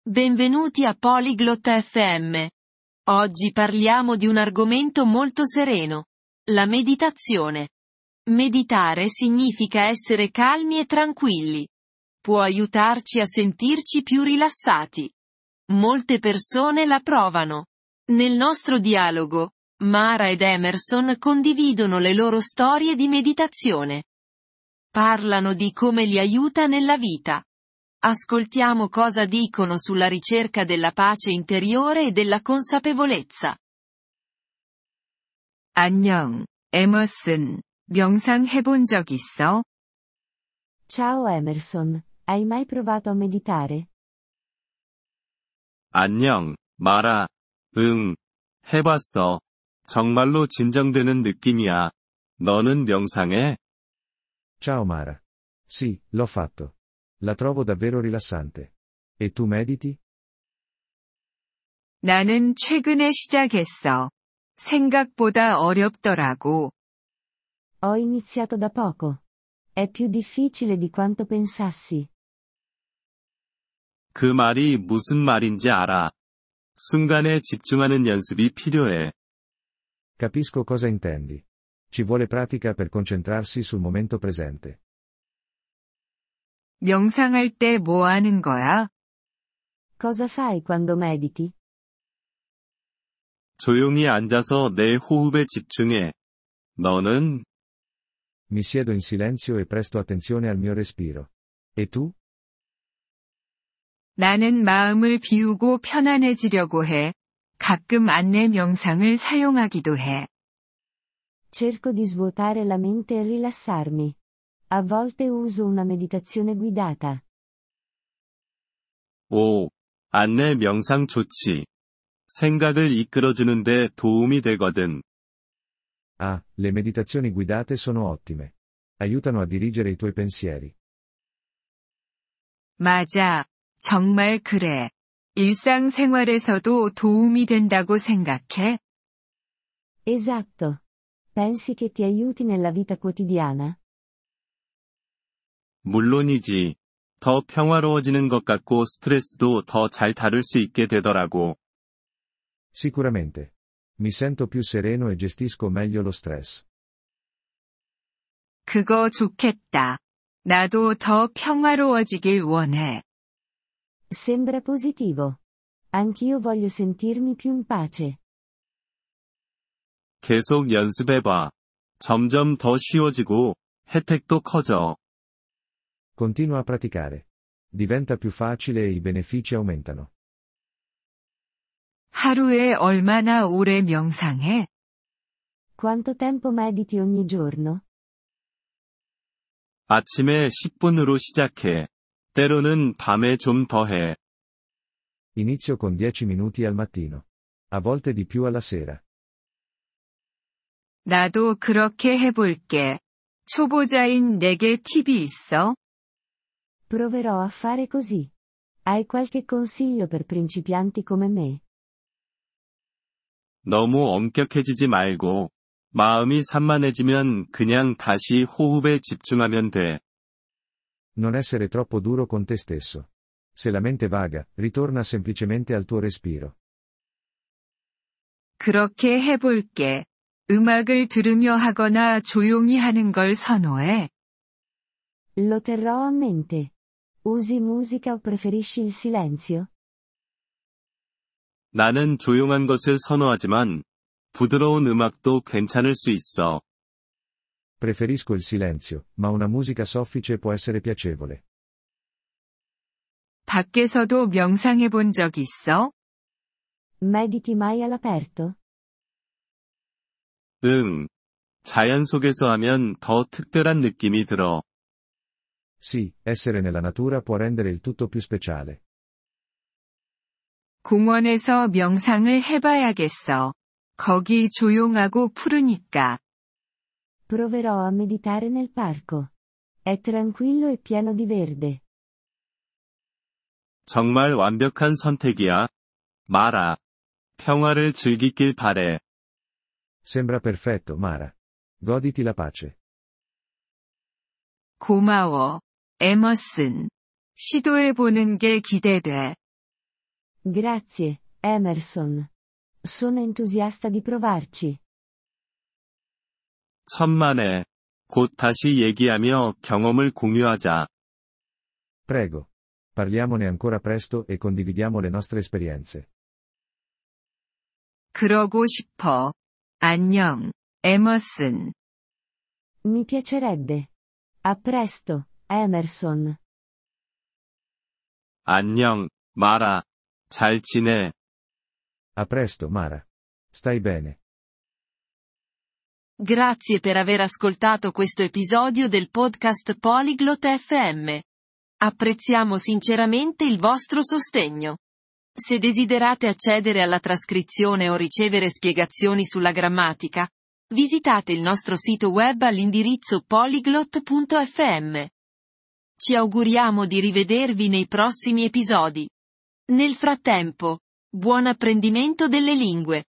Benvenuti a Polyglot FM. Oggi parliamo di un argomento molto sereno. La meditazione. Meditare significa essere calmi e tranquilli. Può aiutarci a sentirci più rilassati. Molte persone la provano. Nel nostro dialogo, Mara ed Emerson condividono le loro storie di meditazione. Parlano di come li aiuta nella vita. Ascoltiamo cosa dicono sulla ricerca della pace interiore e della consapevolezza. 안녕, 에머슨. 명상 해본 적 있어? Ciao Emerson, hai mai provato a meditare? 안녕, 마라. 응, 해봤어. 정말로 진정되는 느낌이야. 너는 명상해? Ciao Mara. Sì, l'ho fatto. La trovo davvero rilassante. E tu mediti? 나는 최근에 시작했어. 생각보다 어렵더라고. Ho iniziato da poco. È più difficile di quanto pensassi. 그 말이 무슨 말인지 알아. 순간에 집중하는 연습이 필요해. Capisco cosa intendi. Ci vuole pratica per concentrarsi sul momento presente. 명상할 때 뭐 하는 거야? Cosa fai quando mediti? 조용히 앉아서 내 호흡에 집중해. 너는? Mi siedo in silenzio e presto attenzione al mio respiro. E tu? 나는 마음을 비우고 편안해지려고 해. 가끔 안내 명상을 사용하기도 해. Cerco di svuotare la mente e rilassarmi. A volte uso una meditazione guidata. 오, 안내 명상 좋지. 생각을 이끌어주는데 도움이 되거든. Ah, le meditazioni guidate sono ottime. Aiutano a dirigere i tuoi pensieri. 맞아. 정말 그래. 일상생활에서도 도움이 된다고 생각해? Esatto. Pensi che ti aiuti nella vita quotidiana? 물론이지. 더 평화로워지는 것 같고 스트레스도 더 잘 다룰 수 있게 되더라고. Sicuramente. Mi sento più sereno e gestisco meglio lo stress. 그거 좋겠다. 나도 더 평화로워지길 원해. Sembra positivo. Anch'io voglio sentirmi più in pace. 계속 연습해봐. 점점 더 쉬워지고 혜택도 커져. Continua a praticare. Diventa più facile e i benefici aumentano. 하루에 얼마나 오래 명상해? Quanto tempo mediti ogni giorno? 아침에 10분으로 시작해. 때로는 밤에 좀 더 해. Inizio con 10 minuti al mattino. A volte di più alla sera. 나도 그렇게 해볼게. 초보자인 내게 팁이 있어? Proverò a fare così. Hai qualche consiglio per principianti come me? 너무 엄격해지지 말고, 마음이 산만해지면 그냥 다시 호흡에 집중하면 돼. Non essere troppo duro con te stesso. Se la mente vaga, ritorna semplicemente al tuo respiro. 그렇게 해볼게. 음악을 들으며 하거나 조용히 하는 걸 선호해. Lo terrò a mente. Usi musica o preferisci il silenzio? 나는 조용한 것을 선호하지만, 부드러운 음악도 괜찮을 수 있어. Preferisco il silenzio, ma una musica soffice può essere piacevole. 밖에서도 명상해 본 적 있어? Mediti mai all'aperto? 응. 자연 속에서 하면 더 특별한 느낌이 들어. Sì, essere nella natura può rendere il tutto più speciale. 공원에서 명상을 해봐야겠어. 거기 조용하고 푸르니까. Proverò a meditare nel parco. È tranquillo e pieno di verde. 정말 완벽한 선택이야. 마라. 평화를 즐기길 바래. Sembra perfetto, Mara. Goditi la pace. 고마워, 에머슨. 시도해보는 게 기대돼. Grazie, Emerson. Sono entusiasta di provarci. 천만에. 곧 다시 얘기하며 경험을 공유하자. Prego. Parliamone ancora presto e condividiamo le nostre esperienze. 그러고 싶어. 안녕, 에머슨. Mi piacerebbe. A presto, Emerson. 안녕, 마라. 잘 지내. A presto, Mara. Stai bene. Grazie per aver ascoltato questo episodio del podcast Polyglot FM. Apprezziamo sinceramente il vostro sostegno. Se desiderate accedere alla trascrizione o ricevere spiegazioni sulla grammatica, visitate il nostro sito web all'indirizzo polyglot.fm. Ci auguriamo di rivedervi nei prossimi episodi. Nel frattempo, buon apprendimento delle lingue.